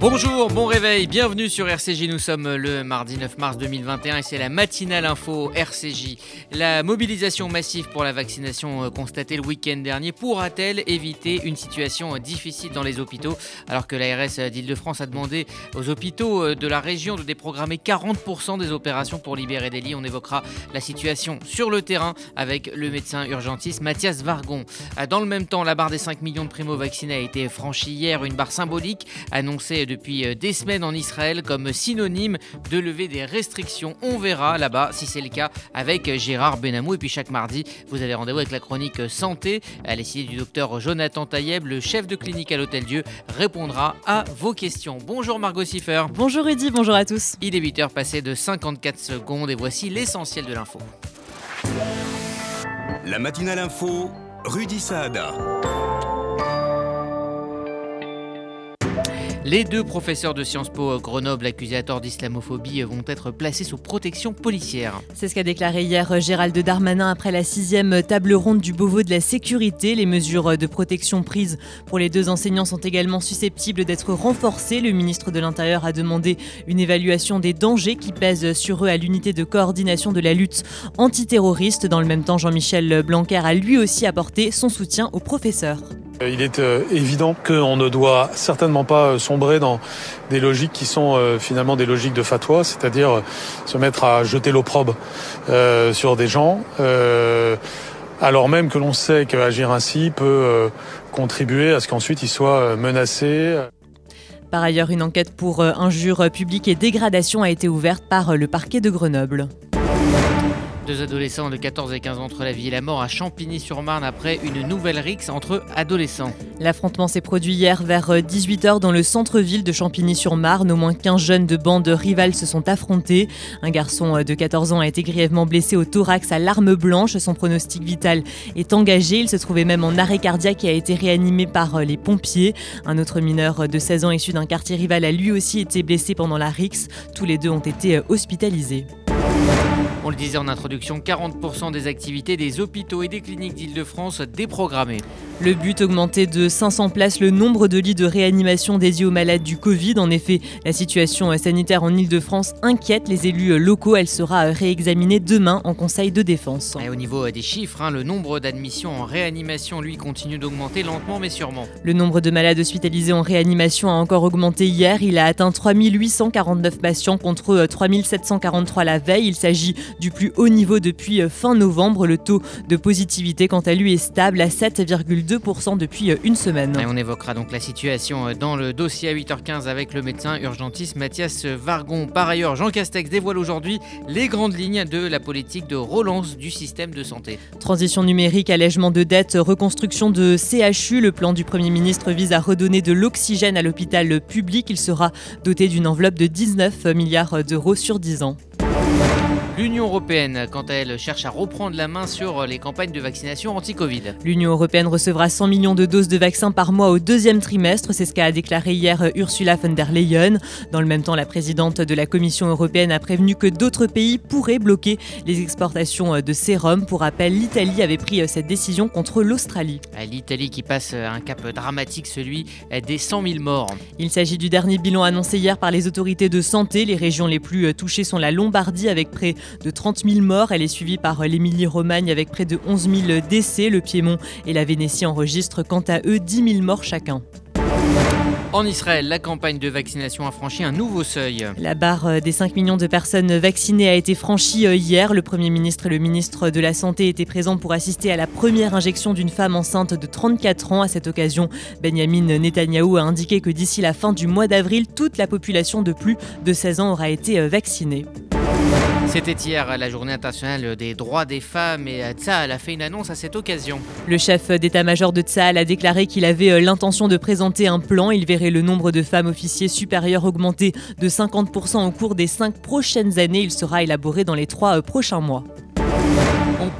Bonjour, bon réveil, bienvenue sur RCJ, nous sommes le mardi 9 mars 2021 et c'est la matinale info RCJ. La mobilisation massive pour la vaccination constatée le week-end dernier pourra-t-elle éviter une situation difficile dans les hôpitaux alors que l'ARS d'Île-de-France a demandé aux hôpitaux de la région de déprogrammer 40% des opérations pour libérer des lits. On évoquera la situation sur le terrain avec le médecin urgentiste Mathias Vargon. Dans le même temps, la barre des 5 millions de primo-vaccinés a été franchie hier, une barre symbolique annoncée depuis des semaines en Israël comme synonyme de lever des restrictions. On verra là-bas si c'est le cas avec Gérard Benamou. Et puis chaque mardi, vous avez rendez-vous avec la chronique santé. Les signes du docteur Jonathan Taïeb, le chef de clinique à l'Hôtel-Dieu, répondra à vos questions. Bonjour Margot Siffer. Bonjour Rudy, bonjour à tous. Il est 8h passé de 54 secondes et voici l'essentiel de l'info. La matinale info, Rudy Saada. Les deux professeurs de Sciences Po Grenoble accusés à tort d'islamophobie vont être placés sous protection policière. C'est ce qu'a déclaré hier Gérald Darmanin après la 6e table ronde du Beauvau de la sécurité. Les mesures de protection prises pour les deux enseignants sont également susceptibles d'être renforcées. Le ministre de l'Intérieur a demandé une évaluation des dangers qui pèsent sur eux à l'unité de coordination de la lutte antiterroriste. Dans le même temps, Jean-Michel Blanquer a lui aussi apporté son soutien aux professeurs. Il est évident qu'on ne doit certainement pas sombrer dans des logiques qui sont finalement des logiques de fatwa, c'est-à-dire se mettre à jeter l'opprobre sur des gens, alors même que l'on sait qu'agir ainsi peut contribuer à ce qu'ensuite ils soient menacés. Par ailleurs, une enquête pour injures publiques et dégradation a été ouverte par le parquet de Grenoble. Deux adolescents de 14 et 15 ans entre la vie et la mort à Champigny-sur-Marne après une nouvelle rixe entre adolescents. L'affrontement s'est produit hier vers 18h dans le centre-ville de Champigny-sur-Marne. Au moins 15 jeunes de bandes rivales se sont affrontés. Un garçon de 14 ans a été grièvement blessé au thorax à l'arme blanche. Son pronostic vital est engagé. Il se trouvait même en arrêt cardiaque et a été réanimé par les pompiers. Un autre mineur de 16 ans issu d'un quartier rival a lui aussi été blessé pendant la rixe. Tous les deux ont été hospitalisés. On le disait en introduction, 40% des activités des hôpitaux et des cliniques d'Île-de-France déprogrammées. Le but, augmenter de 500 places le nombre de lits de réanimation dédiés aux malades du Covid. En effet, la situation sanitaire en Île-de-France inquiète les élus locaux. Elle sera réexaminée demain en Conseil de défense. Et au niveau des chiffres, le nombre d'admissions en réanimation, lui, continue d'augmenter lentement mais sûrement. Le nombre de malades hospitalisés en réanimation a encore augmenté hier. Il a atteint 3849 patients contre 3743 la veille. Il s'agit du plus haut niveau depuis fin novembre. Le taux de positivité, quant à lui, est stable à 7,2% depuis une semaine. Et on évoquera donc la situation dans le dossier à 8h15 avec le médecin urgentiste Mathias Vargon. Par ailleurs, Jean Castex dévoile aujourd'hui les grandes lignes de la politique de relance du système de santé. Transition numérique, allègement de dettes, reconstruction de CHU. Le plan du Premier ministre vise à redonner de l'oxygène à l'hôpital public. Il sera doté d'une enveloppe de 19 milliards d'euros sur 10 ans. L'Union européenne, quant à elle, cherche à reprendre la main sur les campagnes de vaccination anti-Covid. L'Union européenne recevra 100 millions de doses de vaccins par mois au deuxième trimestre. C'est ce qu'a déclaré hier Ursula von der Leyen. Dans le même temps, la présidente de la Commission européenne a prévenu que d'autres pays pourraient bloquer les exportations de sérum. Pour rappel, l'Italie avait pris cette décision contre l'Australie. L'Italie qui passe un cap dramatique, celui des 100 000 morts. Il s'agit du dernier bilan annoncé hier par les autorités de santé. Les régions les plus touchées sont la Lombardie avec près de 30 000 morts. Elle est suivie par l'Émilie-Romagne avec près de 11 000 décès. Le Piémont et la Vénétie enregistrent quant à eux 10 000 morts chacun. En Israël, la campagne de vaccination a franchi un nouveau seuil. La barre des 5 millions de personnes vaccinées a été franchie hier. Le Premier ministre et le ministre de la Santé étaient présents pour assister à la première injection d'une femme enceinte de 34 ans. À cette occasion, Benyamin Netanyahou a indiqué que d'ici la fin du mois d'avril, toute la population de plus de 16 ans aura été vaccinée. C'était hier la journée internationale des droits des femmes et Tsahal a fait une annonce à cette occasion. Le chef d'état-major de Tsahal a déclaré qu'il avait l'intention de présenter un plan. Il verrait le nombre de femmes officiers supérieurs augmenter de 50% au cours des 5 prochaines années. Il sera élaboré dans les 3 prochains mois. On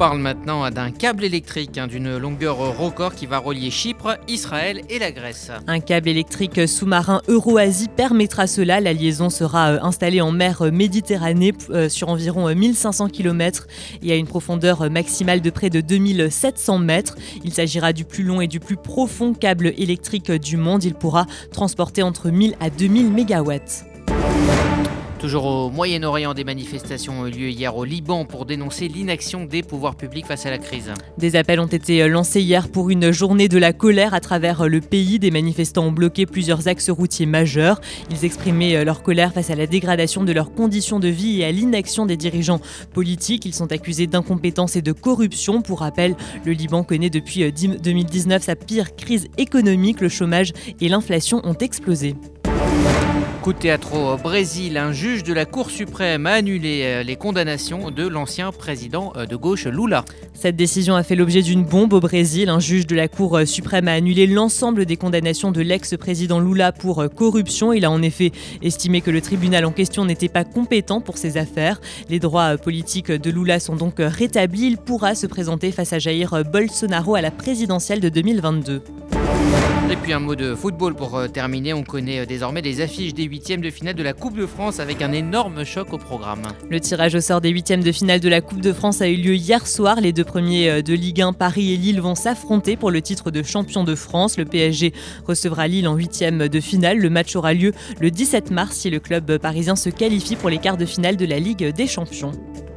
parle maintenant d'un câble électrique d'une longueur record qui va relier Chypre, Israël et la Grèce. Un câble électrique sous-marin Euro-Asie permettra cela. La liaison sera installée en mer Méditerranée sur environ 1500 km et à une profondeur maximale de près de 2700 mètres. Il s'agira du plus long et du plus profond câble électrique du monde. Il pourra transporter entre 1000 à 2000 mégawatts. Toujours au Moyen-Orient, des manifestations ont eu lieu hier au Liban pour dénoncer l'inaction des pouvoirs publics face à la crise. Des appels ont été lancés hier pour une journée de la colère à travers le pays. Des manifestants ont bloqué plusieurs axes routiers majeurs. Ils exprimaient leur colère face à la dégradation de leurs conditions de vie et à l'inaction des dirigeants politiques. Ils sont accusés d'incompétence et de corruption. Pour rappel, le Liban connaît depuis 2019 sa pire crise économique. Le chômage et l'inflation ont explosé. Coup de théâtre au Brésil, un juge de la Cour suprême a annulé les condamnations de l'ancien président de gauche Lula. Cette décision a fait l'objet d'une bombe au Brésil. Un juge de la Cour suprême a annulé l'ensemble des condamnations de l'ex-président Lula pour corruption. Il a en effet estimé que le tribunal en question n'était pas compétent pour ces affaires. Les droits politiques de Lula sont donc rétablis. Il pourra se présenter face à Jair Bolsonaro à la présidentielle de 2022. Et puis un mot de football pour terminer. On connaît désormais les affiches des huitièmes de finale de la Coupe de France avec un énorme choc au programme. Le tirage au sort des huitièmes de finale de la Coupe de France a eu lieu hier soir. Les deux premiers de Ligue 1, Paris et Lille, vont s'affronter pour le titre de champion de France. Le PSG recevra Lille en huitièmes de finale. Le match aura lieu le 17 mars si le club parisien se qualifie pour les quarts de finale de la Ligue des Champions.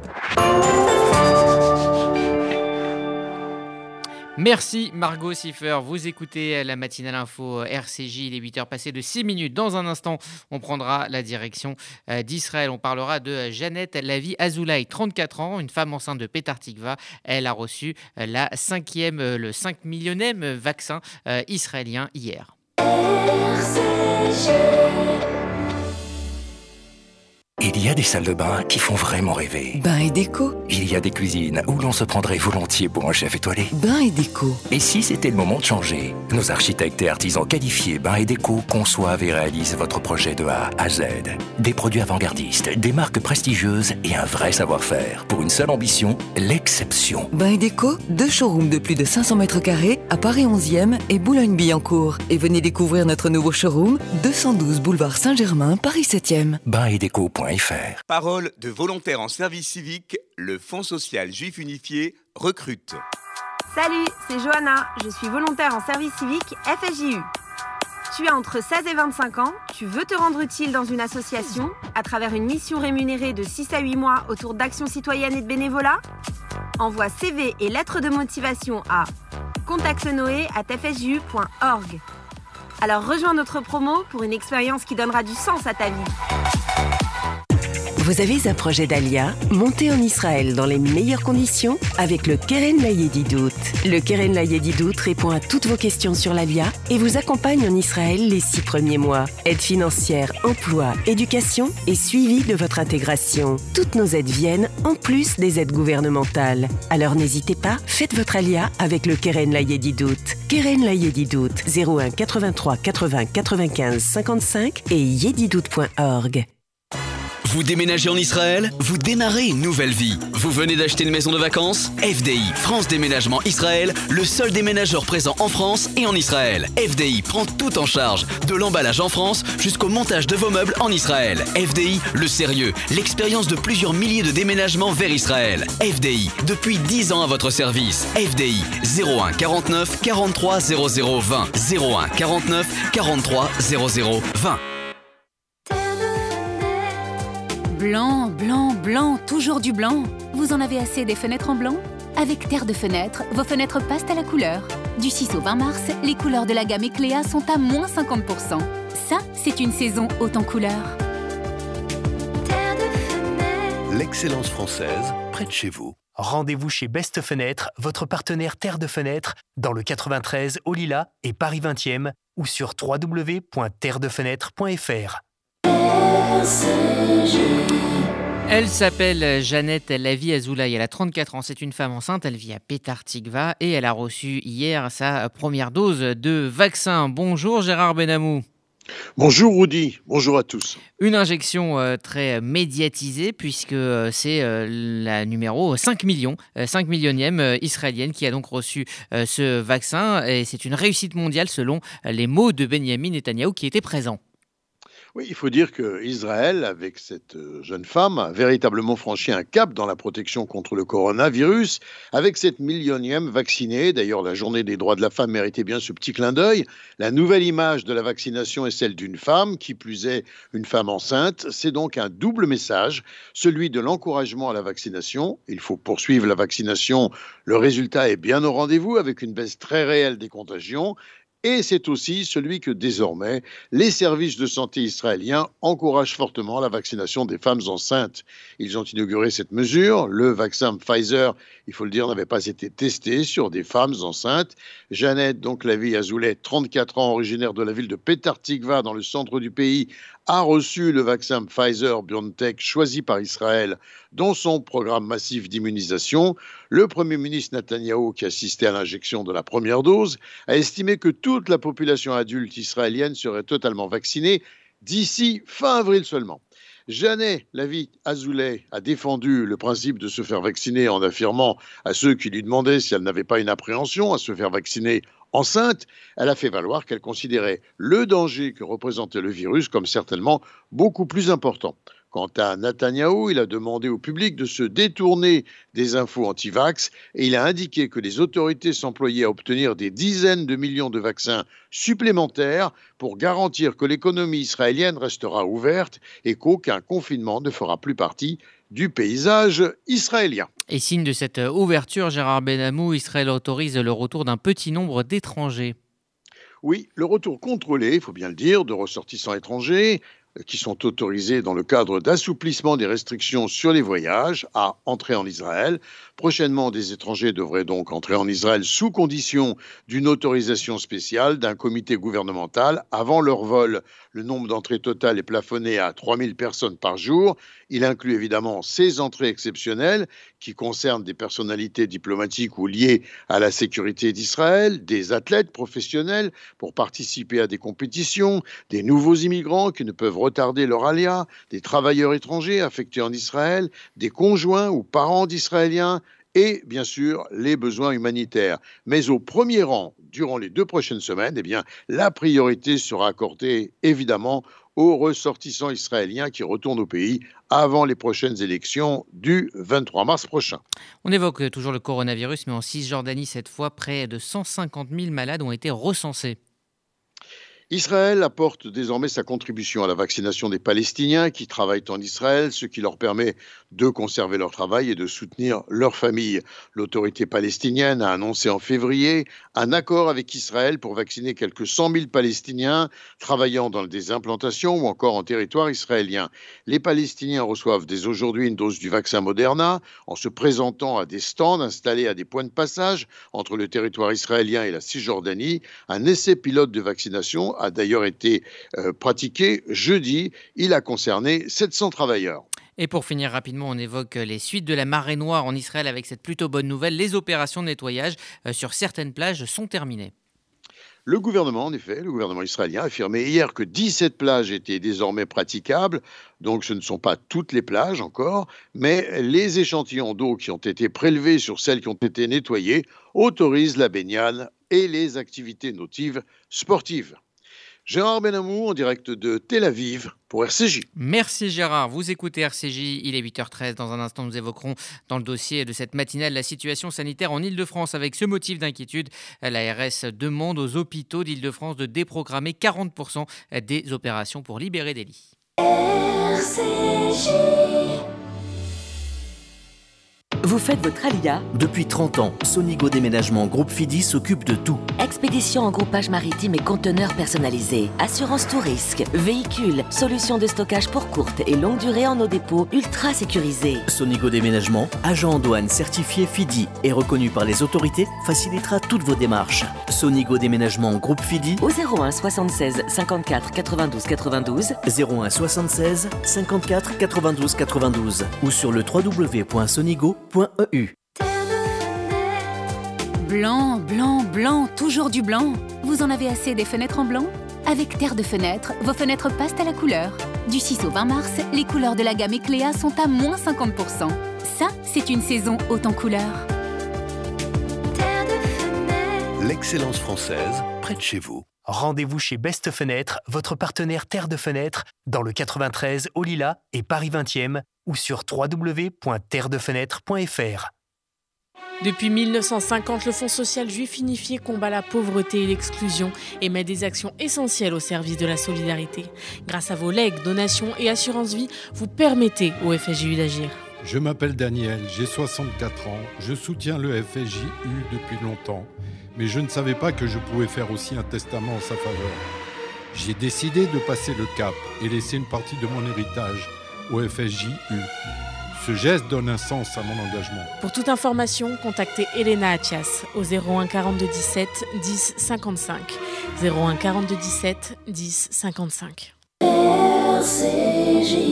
Merci Margot Siffer, vous écoutez la matinale info RCJ, il est 8h passé de 6 minutes. Dans un instant, on prendra la direction d'Israël. On parlera de Janeth Lavi Azoulay, 34 ans, une femme enceinte de Petar Tikva. Elle a reçu le 5 millionième vaccin israélien hier. RCJ. Il y a des salles de bain qui font vraiment rêver. Bain et déco. Il y a des cuisines où l'on se prendrait volontiers pour un chef étoilé. Bain et déco. Et si c'était le moment de changer? Nos architectes et artisans qualifiés Bain et Déco conçoivent et réalisent votre projet de A à Z. Des produits avant-gardistes, des marques prestigieuses et un vrai savoir-faire. Pour une seule ambition, l'exception. Bain et déco, 2 showrooms de plus de 500 mètres carrés à Paris 11e et Boulogne-Billancourt. Et venez découvrir notre nouveau showroom, 212 boulevard Saint-Germain, Paris 7e. Bainetdeco.fr. Parole de volontaires en service civique, le Fonds social juif unifié recrute. Salut, c'est Johanna, je suis volontaire en service civique FSJU. Tu as entre 16 et 25 ans, tu veux te rendre utile dans une association à travers une mission rémunérée de 6 à 8 mois autour d'actions citoyennes et de bénévolat? Envoie CV et lettres de motivation à contactenoé@fsju.org. Alors rejoins notre promo pour une expérience qui donnera du sens à ta vie. Vous avez un projet d'Alia? Montez en Israël dans les meilleures conditions avec le Keren Layedidout. Le Keren Layedidout répond à toutes vos questions sur l'Alia et vous accompagne en Israël les 6 premiers mois. Aide financière, emploi, éducation et suivi de votre intégration. Toutes nos aides viennent en plus des aides gouvernementales. Alors n'hésitez pas, faites votre Alia avec le Keren Layedidout. Keren Layedidout, 01 83 80 95 55 et yedidout.org. Vous déménagez en Israël? Vous démarrez une nouvelle vie. Vous venez d'acheter une maison de vacances? FDI, France Déménagement Israël, le seul déménageur présent en France et en Israël. FDI prend tout en charge, de l'emballage en France jusqu'au montage de vos meubles en Israël. FDI, le sérieux, l'expérience de plusieurs milliers de déménagements vers Israël. FDI, depuis 10 ans à votre service. FDI, 01 49 43 00 20. 01 49 43 00 20. Blanc, blanc, blanc, toujours du blanc. Vous en avez assez des fenêtres en blanc? Avec Terre de Fenêtres, vos fenêtres passent à la couleur. Du 6 au 20 mars, les couleurs de la gamme Ecléa sont à moins 50%. Ça, c'est une saison haute en couleurs. Terre de Fenêtres. L'excellence française, près de chez vous. Rendez-vous chez Best Fenêtres, votre partenaire Terre de Fenêtres, dans le 93 au Lilas et Paris 20e ou sur www.terredefenêtre.fr. Elle s'appelle Janeth Lavi Azoulay, elle a 34 ans, c'est une femme enceinte, elle vit à Petar Tikva et elle a reçu hier sa première dose de vaccin. Bonjour Gérard Benamou. Bonjour Rudy, bonjour à tous. Une injection très médiatisée puisque c'est la numéro 5 millions, 5 millionième israélienne qui a donc reçu ce vaccin et c'est une réussite mondiale selon les mots de Benjamin Netanyahou qui était présent. Oui, il faut dire qu'Israël, avec cette jeune femme, a véritablement franchi un cap dans la protection contre le coronavirus, avec cette millionième vaccinée. D'ailleurs, la journée des droits de la femme méritait bien ce petit clin d'œil. La nouvelle image de la vaccination est celle d'une femme, qui plus est une femme enceinte. C'est donc un double message, celui de l'encouragement à la vaccination. Il faut poursuivre la vaccination. Le résultat est bien au rendez-vous, avec une baisse très réelle des contagions. Et c'est aussi celui que désormais, les services de santé israéliens encouragent fortement la vaccination des femmes enceintes. Ils ont inauguré cette mesure. Le vaccin Pfizer, il faut le dire, n'avait pas été testé sur des femmes enceintes. Jeannette, donc Lavi Azoulay, 34 ans, originaire de la ville de Petah Tikva, dans le centre du pays, a reçu le vaccin Pfizer-BioNTech choisi par Israël dans son programme massif d'immunisation. Le Premier ministre Netanyahou, qui assistait à l'injection de la première dose, a estimé que toute la population adulte israélienne serait totalement vaccinée d'ici fin avril seulement. Jeannette Lavi Azoulay a défendu le principe de se faire vacciner en affirmant à ceux qui lui demandaient si elle n'avait pas une appréhension à se faire vacciner enceinte. Elle a fait valoir qu'elle considérait le danger que représentait le virus comme certainement beaucoup plus important. Quant à Netanyahou, il a demandé au public de se détourner des infos anti-vax et il a indiqué que les autorités s'employaient à obtenir des dizaines de millions de vaccins supplémentaires pour garantir que l'économie israélienne restera ouverte et qu'aucun confinement ne fera plus partie du paysage israélien. Et signe de cette ouverture, Gérard Benamou, Israël autorise le retour d'un petit nombre d'étrangers. Oui, le retour contrôlé, il faut bien le dire, de ressortissants étrangers qui sont autorisés dans le cadre d'assouplissement des restrictions sur les voyages à entrer en Israël. Prochainement, des étrangers devraient donc entrer en Israël sous condition d'une autorisation spéciale d'un comité gouvernemental avant leur vol. Le nombre d'entrées totales est plafonné à 3000 personnes par jour. Il inclut évidemment ces entrées exceptionnelles qui concernent des personnalités diplomatiques ou liées à la sécurité d'Israël, des athlètes professionnels pour participer à des compétitions, des nouveaux immigrants qui ne peuvent retarder leur alia, des travailleurs étrangers affectés en Israël, des conjoints ou parents d'Israéliens et bien sûr les besoins humanitaires. Mais au premier rang, durant les 2 prochaines semaines, la priorité sera accordée évidemment aux ressortissants israéliens qui retournent au pays avant les prochaines élections du 23 mars prochain. On évoque toujours le coronavirus, mais en Cisjordanie, cette fois, près de 150 000 malades ont été recensés. Israël apporte désormais sa contribution à la vaccination des Palestiniens qui travaillent en Israël, ce qui leur permet de conserver leur travail et de soutenir leur famille. L'autorité palestinienne a annoncé en février un accord avec Israël pour vacciner quelques 100 000 Palestiniens travaillant dans des implantations ou encore en territoire israélien. Les Palestiniens reçoivent dès aujourd'hui une dose du vaccin Moderna en se présentant à des stands installés à des points de passage entre le territoire israélien et la Cisjordanie. Un essai pilote de vaccination a d'ailleurs été pratiqué jeudi. Il a concerné 700 travailleurs. Et pour finir rapidement, on évoque les suites de la marée noire en Israël avec cette plutôt bonne nouvelle. Les opérations de nettoyage sur certaines plages sont terminées. Le gouvernement, en effet, le gouvernement israélien a affirmé hier que 17 plages étaient désormais praticables. Donc ce ne sont pas toutes les plages encore, mais les échantillons d'eau qui ont été prélevés sur celles qui ont été nettoyées autorisent la baignade et les activités nautives sportives. Gérard Benamou en direct de Tel Aviv pour RCJ. Merci Gérard, vous écoutez RCJ, il est 8h13. Dans un instant, nous évoquerons dans le dossier de cette matinale la situation sanitaire en Île-de-France. Avec ce motif d'inquiétude, l'ARS demande aux hôpitaux d'Île-de-France de déprogrammer 40% des opérations pour libérer des lits. RCJ. Vous faites votre alia? Depuis 30 ans, Sonigo Déménagement Groupe Fidi s'occupe de tout. Expédition en groupage maritime et conteneurs personnalisés. Assurance tout risque, véhicules, solutions de stockage pour courte et longue durée en nos dépôts ultra sécurisés. Sonigo Déménagement, agent en douane certifié Fidi et reconnu par les autorités, facilitera toutes vos démarches. Sonigo Déménagement Groupe Fidi au 01 76 54 92 92 01 76 54 92 92 ou sur le www.sonigo.eu. Blanc, blanc, blanc, toujours du blanc. Vous en avez assez des fenêtres en blanc ? Avec Terre de Fenêtre, vos fenêtres passent à la couleur. Du 6 au 20 mars, les couleurs de la gamme Ecléa sont à moins 50%. Ça, c'est une saison haute en couleurs. Terre de fenêtre. L'excellence française, près de chez vous. Rendez-vous chez Best Fenêtre, votre partenaire Terre de Fenêtre, dans le 93 au Lilas et Paris 20e ou sur www.terredefenêtre.fr. Depuis 1950, le Fonds social juif unifié combat la pauvreté et l'exclusion et met des actions essentielles au service de la solidarité. Grâce à vos legs, donations et assurances vie, vous permettez au FSJU d'agir. Je m'appelle Daniel, j'ai 64 ans, je soutiens le FSJU depuis longtemps, mais je ne savais pas que je pouvais faire aussi un testament en sa faveur. J'ai décidé de passer le cap et laisser une partie de mon héritage au FSJU. Ce geste donne un sens à mon engagement. Pour toute information, contactez Elena Athias au 01 42 17 10 55. 01 42 17 10 55. RCJ.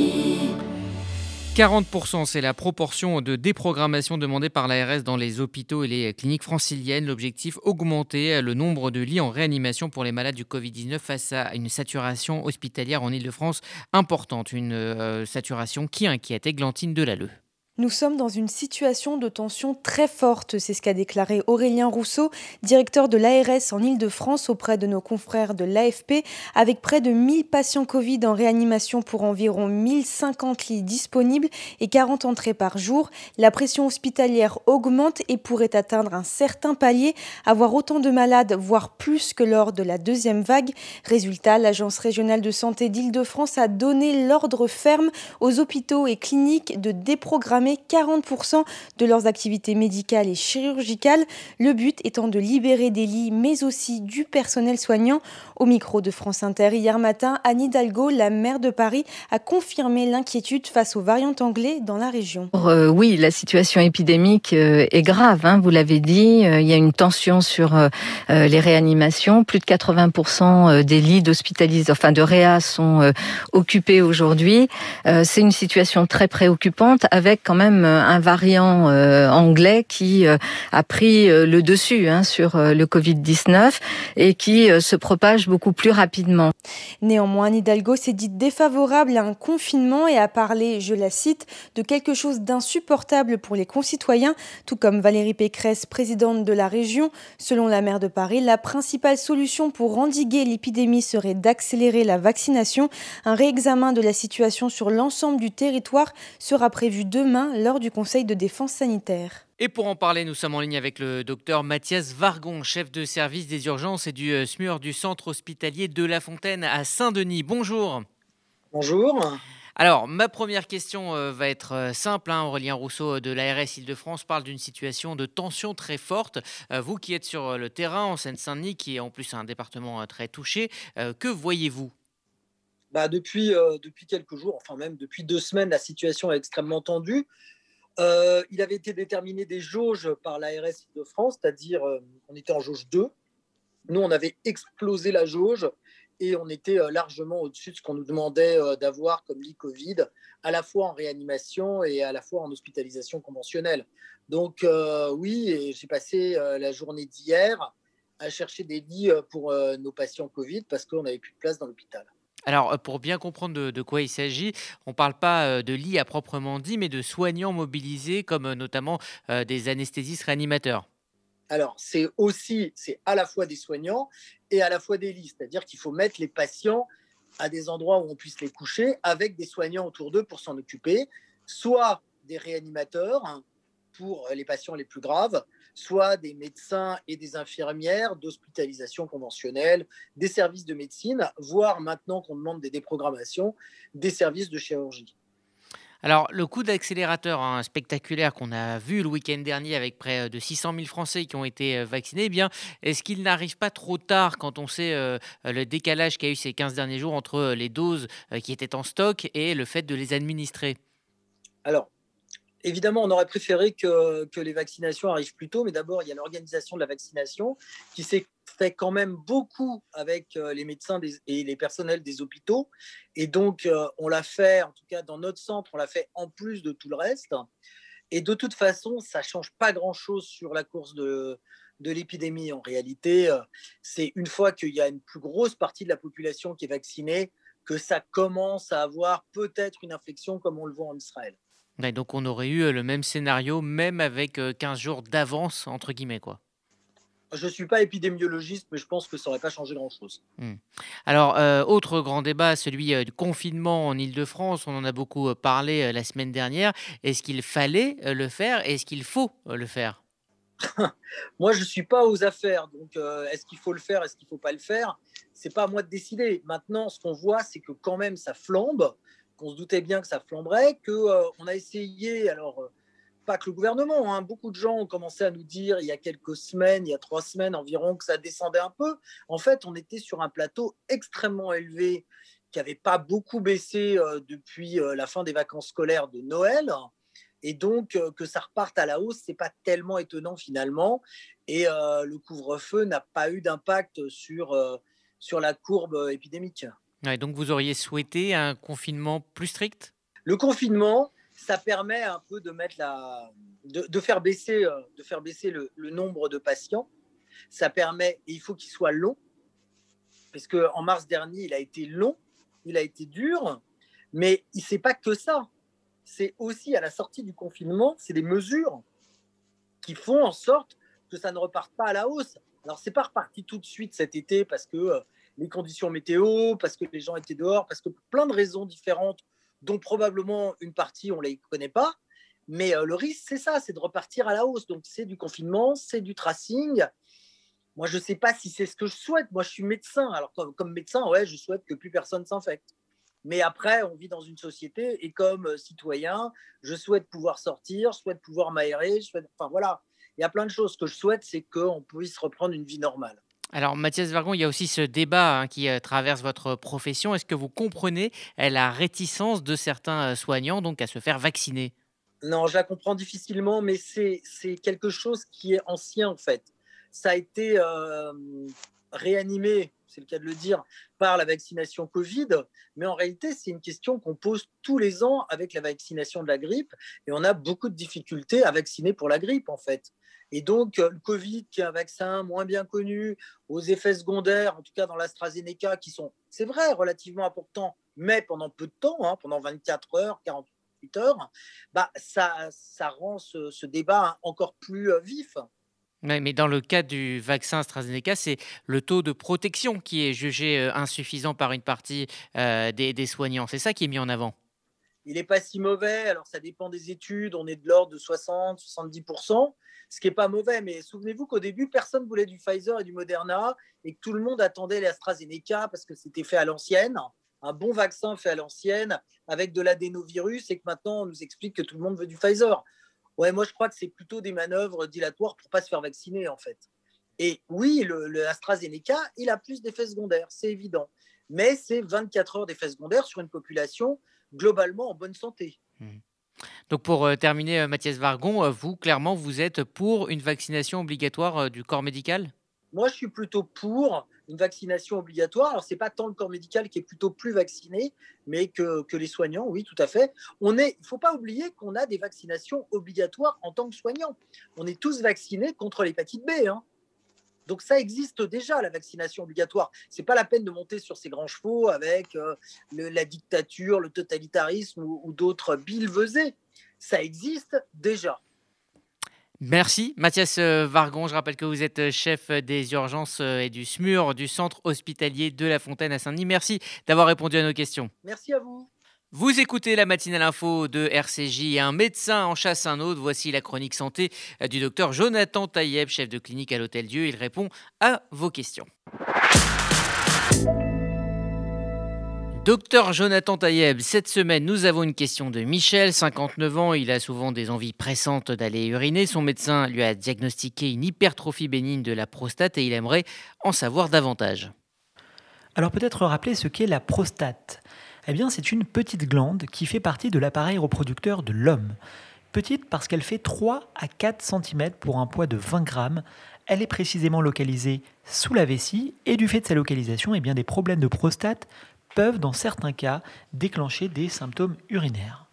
40%, c'est la proportion de déprogrammation demandée par l'ARS dans les hôpitaux et les cliniques franciliennes. L'objectif, augmenter le nombre de lits en réanimation pour les malades du Covid-19 face à une saturation hospitalière en Ile-de-France importante. Une saturation qui inquiète Églantine Delalleux. Nous sommes dans une situation de tension très forte, c'est ce qu'a déclaré Aurélien Rousseau, directeur de l'ARS en Ile-de-France auprès de nos confrères de l'AFP, avec près de 1000 patients Covid en réanimation pour environ 1050 lits disponibles et 40 entrées par jour. La pression hospitalière augmente et pourrait atteindre un certain palier, avoir autant de malades, voire plus que lors de la deuxième vague. Résultat, l'Agence régionale de santé d'Ile-de-France a donné l'ordre ferme aux hôpitaux et cliniques de déprogrammer 40% de leurs activités médicales et chirurgicales, le but étant de libérer des lits mais aussi du personnel soignant. Au micro de France Inter hier matin, Anne Hidalgo, la maire de Paris, a confirmé l'inquiétude face aux variantes anglais dans la région. Oui, la situation épidémique est grave, vous l'avez dit, il y a une tension sur les réanimations, plus de 80% des lits d'hospitalisation, de réa sont occupés aujourd'hui. C'est une situation très préoccupante avec quand même un variant anglais qui a pris le dessus sur le Covid-19 et qui se propage beaucoup plus rapidement. Néanmoins, Anne Hidalgo s'est dite défavorable à un confinement et a parlé, je la cite, de quelque chose d'insupportable pour les concitoyens, tout comme Valérie Pécresse, présidente de la région. Selon la maire de Paris, la principale solution pour endiguer l'épidémie serait d'accélérer la vaccination. Un réexamen de la situation sur l'ensemble du territoire sera prévu demain lors du Conseil de défense sanitaire. Et pour en parler, nous sommes en ligne avec le docteur Mathias Vargon, chef de service des urgences et du SMUR du centre hospitalier de La Fontaine à Saint-Denis. Bonjour. Bonjour. Alors, ma première question va être simple. Aurélien Rousseau de l'ARS Île-de-France parle d'une situation de tension très forte. Vous qui êtes sur le terrain en Seine-Saint-Denis, qui est en plus un département très touché, que voyez-vous ? Depuis quelques jours, enfin même depuis 2 semaines, la situation est extrêmement tendue. Il avait été déterminé des jauges par l'ARS Île-de-France, c'est-à-dire on était en jauge 2. Nous, on avait explosé la jauge et on était largement au-dessus de ce qu'on nous demandait d'avoir comme lit Covid, à la fois en réanimation et à la fois en hospitalisation conventionnelle. Donc oui, et j'ai passé la journée d'hier à chercher des lits pour nos patients Covid parce qu'on n'avait plus de place dans l'hôpital. Alors, pour bien comprendre de quoi il s'agit, on ne parle pas de lits à proprement dit, mais de soignants mobilisés, comme notamment des anesthésistes réanimateurs. Alors, c'est à la fois des soignants et à la fois des lits. C'est-à-dire qu'il faut mettre les patients à des endroits où on puisse les coucher avec des soignants autour d'eux pour s'en occuper, soit des réanimateurs pour les patients les plus graves, soit des médecins et des infirmières d'hospitalisation conventionnelle, des services de médecine, voire maintenant qu'on demande des déprogrammations, des services de chirurgie. Alors, le coup d'accélérateur spectaculaire qu'on a vu le week-end dernier avec près de 600 000 Français qui ont été vaccinés, est-ce qu'il n'arrive pas trop tard quand on sait le décalage qu'il y a eu ces 15 derniers jours entre les doses qui étaient en stock et le fait de les administrer ? Alors, évidemment, on aurait préféré que les vaccinations arrivent plus tôt, mais d'abord, il y a l'organisation de la vaccination qui s'est fait quand même beaucoup avec les médecins et les personnels des hôpitaux. Et donc, on l'a fait, en tout cas dans notre centre, on l'a fait en plus de tout le reste. Et de toute façon, ça ne change pas grand-chose sur la course de de l'épidémie. En réalité, c'est une fois qu'il y a une plus grosse partie de la population qui est vaccinée que ça commence à avoir peut-être une infection comme on le voit en Israël. Ouais, donc on aurait eu le même scénario, même avec 15 jours d'avance, entre guillemets, quoi. Je ne suis pas épidémiologiste, mais je pense que ça n'aurait pas changé grand-chose. Alors, autre grand débat, celui du confinement en Île-de-France. On en a beaucoup parlé la semaine dernière. Est-ce qu'il fallait le faire? Est-ce qu'il faut le faire? Moi, je ne suis pas aux affaires. Donc, est-ce qu'il faut le faire? Est-ce qu'il ne faut pas le faire? Ce n'est pas à moi de décider. Maintenant, ce qu'on voit, c'est que quand même, ça flambe, qu'on se doutait bien que ça flamberait, qu'on a essayé... Alors, pas que le gouvernement, beaucoup de gens ont commencé à nous dire il y a quelques semaines, il y a 3 semaines environ, que ça descendait un peu. En fait, on était sur un plateau extrêmement élevé qui n'avait pas beaucoup baissé depuis la fin des vacances scolaires de Noël. Et donc, que ça reparte à la hausse, ce n'est pas tellement étonnant finalement. Et le couvre-feu n'a pas eu d'impact sur la courbe épidémique. Ouais, donc vous auriez souhaité un confinement plus strict? Le confinement, ça permet un peu de faire baisser le nombre de patients. Ça permet, et il faut qu'il soit long, parce qu'en mars dernier, il a été long, il a été dur, mais ce n'est pas que ça. C'est aussi à la sortie du confinement, c'est des mesures qui font en sorte que ça ne reparte pas à la hausse. Alors, ce n'est pas reparti tout de suite cet été parce que les conditions météo, parce que les gens étaient dehors, parce que pour plein de raisons différentes, dont probablement une partie, on ne les connaît pas. Mais le risque, c'est ça, c'est de repartir à la hausse. Donc, c'est du confinement, c'est du tracing. Moi, je ne sais pas si c'est ce que je souhaite. Moi, je suis médecin. Alors, comme médecin, ouais, je souhaite que plus personne s'infecte. Mais après, on vit dans une société et comme citoyen, je souhaite pouvoir sortir, je souhaite pouvoir m'aérer. Enfin, voilà. Il y a plein de choses. Ce que je souhaite, c'est qu'on puisse reprendre une vie normale. Alors, Mathias Vargon, il y a aussi ce débat qui traverse votre profession. Est-ce que vous comprenez la réticence de certains soignants donc, à se faire vacciner? Non, je la comprends difficilement, mais c'est quelque chose qui est ancien en fait. Ça a été réanimé, c'est le cas de le dire, par la vaccination Covid, mais en réalité, c'est une question qu'on pose tous les ans avec la vaccination de la grippe, et on a beaucoup de difficultés à vacciner pour la grippe en fait. Et donc, le Covid, qui est un vaccin moins bien connu, aux effets secondaires, en tout cas dans l'AstraZeneca, qui sont, c'est vrai, relativement importants, mais pendant peu de temps, pendant 24 heures, 48 heures, ça rend ce débat encore plus vif. Ouais, mais dans le cas du vaccin AstraZeneca, c'est le taux de protection qui est jugé insuffisant par une partie des soignants. C'est ça qui est mis en avant. Il n'est pas si mauvais. Alors, ça dépend des études. On est de l'ordre de 60-70%, ce qui n'est pas mauvais. Mais souvenez-vous qu'au début, personne ne voulait du Pfizer et du Moderna et que tout le monde attendait l'AstraZeneca parce que c'était fait à l'ancienne, un bon vaccin fait à l'ancienne avec de l'adénovirus et que maintenant, on nous explique que tout le monde veut du Pfizer. Ouais, moi, je crois que c'est plutôt des manœuvres dilatoires pour ne pas se faire vacciner, en fait. Et oui, le AstraZeneca, il a plus d'effets secondaires, c'est évident. Mais c'est 24 heures d'effets secondaires sur une population globalement en bonne santé. Donc pour terminer, Mathias Vargon, vous, clairement, vous êtes pour une vaccination obligatoire du corps médical? Moi, je suis plutôt pour une vaccination obligatoire. Alors, ce n'est pas tant le corps médical qui est plutôt plus vacciné, mais que les soignants, oui, tout à fait. Il ne faut pas oublier qu'on a des vaccinations obligatoires en tant que soignants. On est tous vaccinés contre l'hépatite B. Donc, ça existe déjà, la vaccination obligatoire. Ce n'est pas la peine de monter sur ces grands chevaux avec la dictature, le totalitarisme ou d'autres billevesées. Ça existe déjà. Merci Mathias Vargon, je rappelle que vous êtes chef des urgences et du SMUR du centre hospitalier de La Fontaine à Saint-Denis. Merci d'avoir répondu à nos questions. Merci à vous. Vous écoutez la matinale info de RCJ et un médecin en chasse un autre. Voici la chronique santé du docteur Jonathan Taïeb, chef de clinique à l'Hôtel Dieu. Il répond à vos questions. Docteur Jonathan Taïeb, cette semaine, nous avons une question de Michel, 59 ans. Il a souvent des envies pressantes d'aller uriner. Son médecin lui a diagnostiqué une hypertrophie bénigne de la prostate et il aimerait en savoir davantage. Alors peut-être rappeler ce qu'est la prostate. Eh bien, c'est une petite glande qui fait partie de l'appareil reproducteur de l'homme. Petite parce qu'elle fait 3 à 4 cm pour un poids de 20 grammes. Elle est précisément localisée sous la vessie et du fait de sa localisation, eh bien, des problèmes de prostate peuvent, dans certains cas, déclencher des symptômes urinaires.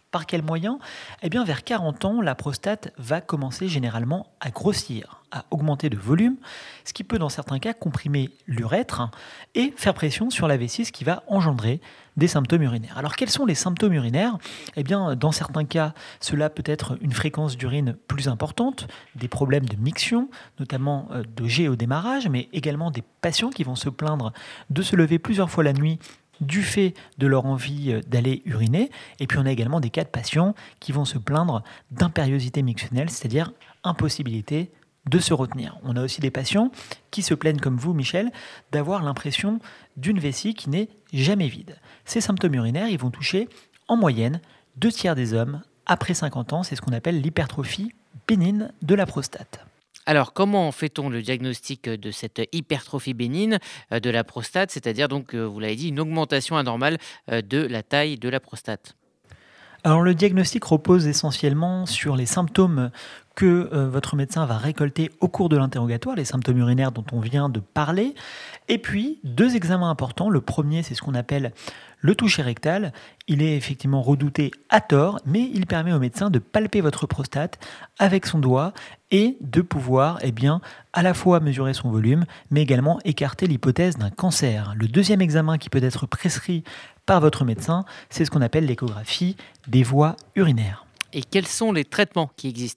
Par quel moyen ? Eh bien, vers 40 ans, la prostate va commencer généralement à grossir, à augmenter de volume, ce qui peut dans certains cas comprimer l'urètre et faire pression sur la vessie, ce qui va engendrer des symptômes urinaires. Alors, quels sont les symptômes urinaires ? Eh bien, dans certains cas, cela peut être une fréquence d'urine plus importante, des problèmes de miction, notamment de jet au démarrage, mais également des patients qui vont se plaindre de se lever plusieurs fois la nuit du fait de leur envie d'aller uriner. Et puis on a également des cas de patients qui vont se plaindre d'impériosité mictionnelle, c'est-à-dire impossibilité de se retenir. On a aussi des patients qui se plaignent comme vous, Michel, d'avoir l'impression d'une vessie qui n'est jamais vide. Ces symptômes urinaires, ils vont toucher en moyenne 2/3 des hommes après 50 ans. C'est ce qu'on appelle l'hypertrophie bénigne de la prostate. Alors, comment fait-on le diagnostic de cette hypertrophie bénigne de la prostate, c'est-à-dire donc, vous l'avez dit, une augmentation anormale de la taille de la prostate ? Alors le diagnostic repose essentiellement sur les symptômes que votre médecin va récolter au cours de l'interrogatoire, les symptômes urinaires dont on vient de parler, et puis 2 examens importants. Le premier, c'est ce qu'on appelle le toucher rectal. Il est effectivement redouté à tort, mais il permet au médecin de palper votre prostate avec son doigt et de pouvoir à la fois mesurer son volume, mais également écarter l'hypothèse d'un cancer. Le deuxième examen qui peut être prescrit par votre médecin, c'est ce qu'on appelle l'échographie des voies urinaires. Et quels sont les traitements qui existent ?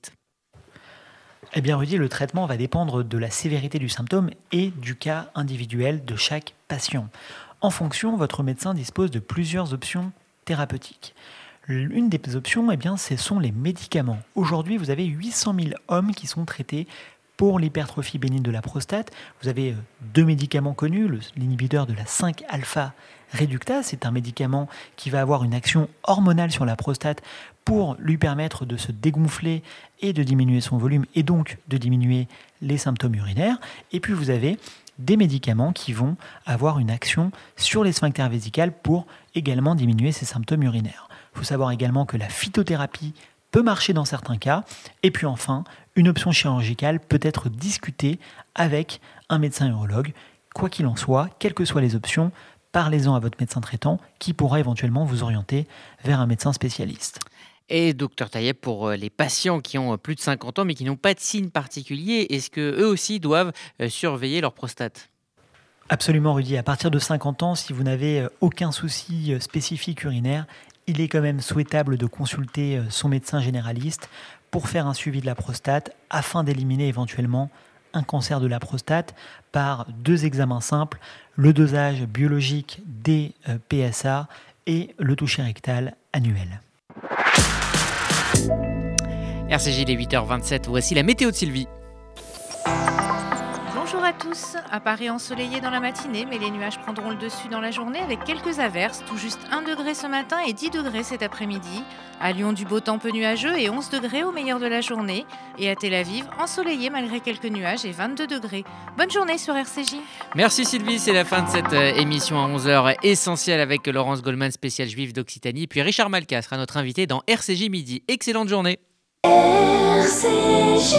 Eh bien, Rudy, le traitement va dépendre de la sévérité du symptôme et du cas individuel de chaque patient. En fonction, votre médecin dispose de plusieurs options thérapeutiques. Une des options, ce sont les médicaments. Aujourd'hui, vous avez 800 000 hommes qui sont traités pour l'hypertrophie bénigne de la prostate. Vous avez 2 médicaments connus, l'inhibiteur de la 5-alpha-réductase. C'est un médicament qui va avoir une action hormonale sur la prostate pour lui permettre de se dégonfler et de diminuer son volume et donc de diminuer les symptômes urinaires. Et puis vous avez des médicaments qui vont avoir une action sur les sphincters vésicales pour également diminuer ces symptômes urinaires. Il faut savoir également que la phytothérapie peut marcher dans certains cas. Et puis enfin, une option chirurgicale peut être discutée avec un médecin urologue. Quoi qu'il en soit, quelles que soient les options, parlez-en à votre médecin traitant qui pourra éventuellement vous orienter vers un médecin spécialiste. Et docteur Taïeb, pour les patients qui ont plus de 50 ans mais qui n'ont pas de signes particuliers, est-ce qu'eux aussi doivent surveiller leur prostate ? Absolument, Rudy. À partir de 50 ans, si vous n'avez aucun souci spécifique urinaire, il est quand même souhaitable de consulter son médecin généraliste pour faire un suivi de la prostate afin d'éliminer éventuellement un cancer de la prostate par 2 examens simples, le dosage biologique des PSA et le toucher rectal annuel. RCJ, il est 8h27, voici la météo de Sylvie. Bonjour à tous. À Paris, ensoleillé dans la matinée, mais les nuages prendront le dessus dans la journée avec quelques averses, tout juste 1 degré ce matin et 10 degrés cet après-midi. À Lyon, du beau temps peu nuageux et 11 degrés au meilleur de la journée. Et à Tel Aviv, ensoleillé malgré quelques nuages et 22 degrés. Bonne journée sur RCJ. Merci Sylvie, c'est la fin de cette émission à 11h essentielle avec Laurence Goldman, spéciale juive d'Occitanie. Puis Richard Malka sera notre invité dans RCJ Midi. Excellente journée. RCJ.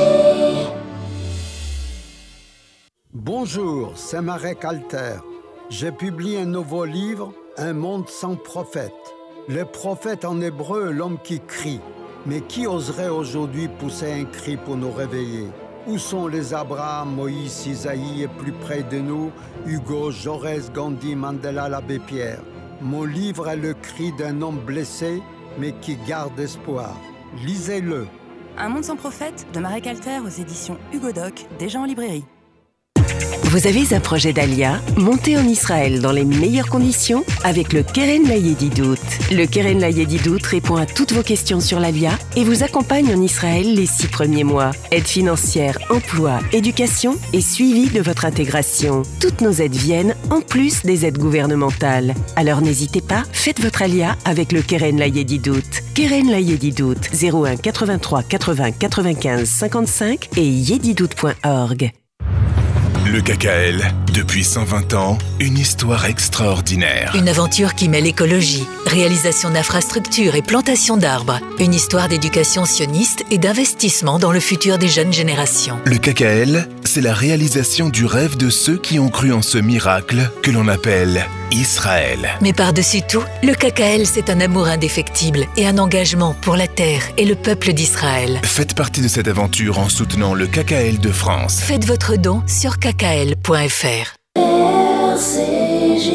Bonjour, c'est Marek Alter. J'ai publié un nouveau livre, Un monde sans prophète. Le prophète en hébreu, l'homme qui crie. Mais qui oserait aujourd'hui pousser un cri pour nous réveiller ? Où sont les Abraham, Moïse, Isaïe et plus près de nous, Hugo, Jaurès, Gandhi, Mandela, l'abbé Pierre ? Mon livre est le cri d'un homme blessé, mais qui garde espoir. Lisez-le. Un monde sans prophète de Marek Alter aux éditions Hugo Doc, déjà en librairie. Vous avez un projet d'Alia ? Montez en Israël dans les meilleures conditions avec le Keren Layedidout. Le Keren Layedidout répond à toutes vos questions sur l'Alia et vous accompagne en Israël les 6 premiers mois. Aide financière, emploi, éducation et suivi de votre intégration. Toutes nos aides viennent en plus des aides gouvernementales. Alors n'hésitez pas, faites votre Alia avec le Keren Layedidout. Keren Layedidout 01 83 80 95 55 et yedidout.org. Le KKL, Depuis 120 ans, une histoire extraordinaire. Une aventure qui mêle écologie, réalisation d'infrastructures et plantation d'arbres. Une histoire d'éducation sioniste et d'investissement dans le futur des jeunes générations. Le KKL, c'est la réalisation du rêve de ceux qui ont cru en ce miracle que l'on appelle Israël. Mais par-dessus tout, le KKL, c'est un amour indéfectible et un engagement pour la terre et le peuple d'Israël. Faites partie de cette aventure en soutenant le KKL de France. Faites votre don sur kkl.fr. RCJ.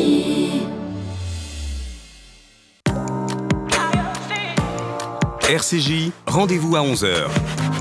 RCJ, rendez-vous à 11h.